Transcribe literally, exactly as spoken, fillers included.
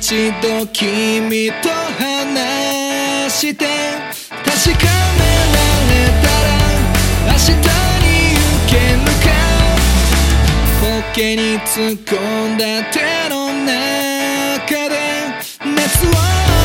一度君と話して確かめられたら明日に行けるかポケに突っ込んだ手の中で熱は